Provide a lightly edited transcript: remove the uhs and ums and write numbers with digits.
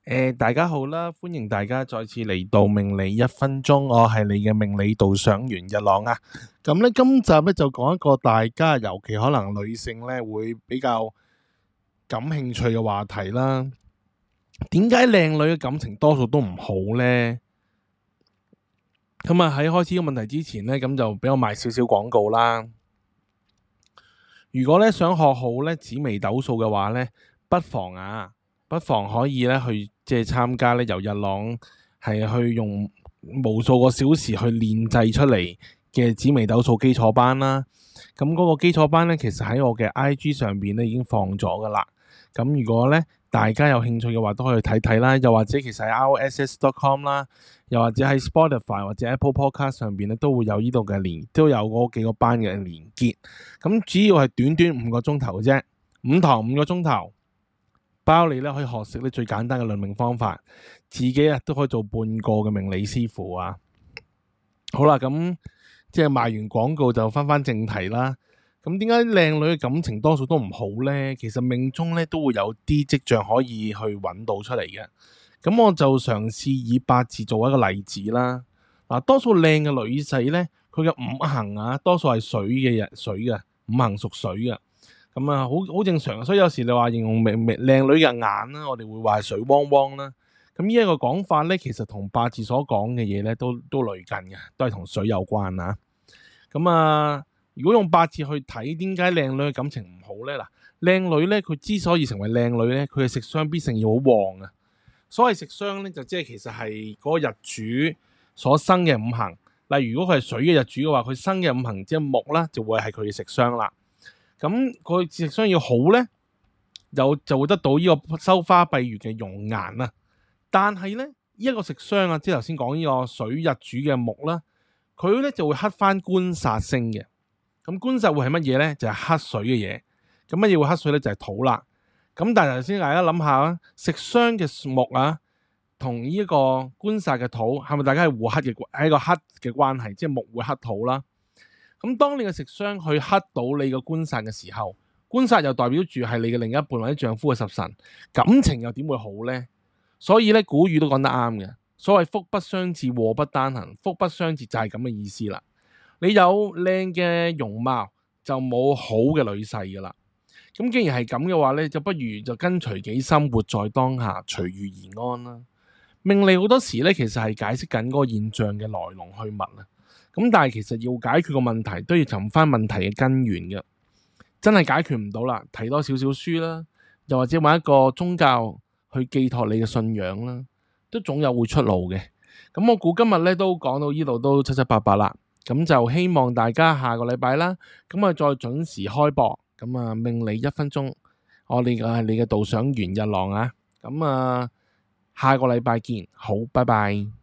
大家好啦，歡迎大家再次嚟到命理一分鐘，我係你嘅命理導賞員日朗啊。咁咧，今集咧就講一個大家，尤其可能女性咧會比較感興趣嘅話題啦。點解靚女嘅感情多數都唔好呢？咁啊，喺開始個問題之前咧，咁就俾我賣少少廣告啦。如果咧想學好咧紫微斗數嘅話咧，不妨可以咧去參加咧由日朗係去用無數個小時去練製出嚟嘅紫微斗數基礎班啦。咁嗰個基礎班咧，其實喺我嘅 IG 上邊咧已經放咗噶啦。咁如果咧大家有興趣嘅話，都可以睇睇啦。又或者其實喺 RSS.com 啦，又或者喺 Spotify 或者 Apple Podcast 上邊咧都會有呢度嘅都有嗰幾個班嘅連結。咁主要係短短5個鐘頭嘅啫，5堂5個鐘頭。包你咧可以學識咧最簡單嘅論命方法，自己都可以做半個嘅命理師傅啊！好啦，咁賣完廣告就翻正題啦。咁點解靚女嘅感情多數都唔好呢？其實命中咧都會有啲跡象可以去揾到出嚟嘅。咁我就嘗試以八字做一個例子啦。多數靚嘅女仔咧，佢嘅五行多數係水嘅，五行屬水嘅。咁好正常，所以有時你話形容靚女嘅眼啦，我哋會話係水汪汪啦。咁呢一個講法咧，其實同八字所講嘅嘢咧都類近嘅，都係同水有關啊。咁如果用八字去睇，點解靚女嘅感情唔好咧？靚女咧，佢之所以成為靚女咧，佢嘅食傷必勝要好旺啊。所謂食傷咧，就即係其實係嗰個日主所生嘅五行。例如如果佢係水嘅日主嘅話，佢生嘅五行即係木啦，就會係佢嘅食傷啦。咁佢食傷要好咧，就會得到呢個收花閉月嘅容顏啊。但係咧，呢個食傷即係頭先講呢個水日主嘅木啦，佢咧就會克翻官殺星嘅。咁官殺會係乜嘢咧？就係克水嘅嘢。咁乜嘢會克水咧？就係土啦。咁但係頭先大家諗下食傷嘅木同呢一個官殺嘅土係咪大家係互克嘅？係一個克嘅關係，即係木會克土啦。咁當你嘅食傷去克到你嘅官殺嘅時候，官殺又代表住係你嘅另一半或者丈夫嘅十神，感情又點會好呢？所以咧，古語都講得啱嘅，所謂福不相至，禍不單行，福不相至就係咁嘅意思啦。你有靚嘅容貌就冇好嘅女婿噶啦。咁既然係咁嘅話咧，就不如就跟隨己心，活在當下，隨遇而安啦。命理好多時咧，其實係解釋緊嗰個現象嘅來龍去脈啊。咁但係其實要解決個問題，都要尋翻問題嘅根源嘅。真係解決唔到啦，睇多少少書啦，又或者揾一個宗教去寄託你嘅信仰啦，都總有會出路嘅。咁我估今日咧都講到呢度都七七八八啦。咁就希望大家下個禮拜啦，咁再準時開播。咁命理一分鐘，我哋係你嘅導賞員日朗啊。咁下個禮拜見，好，拜拜。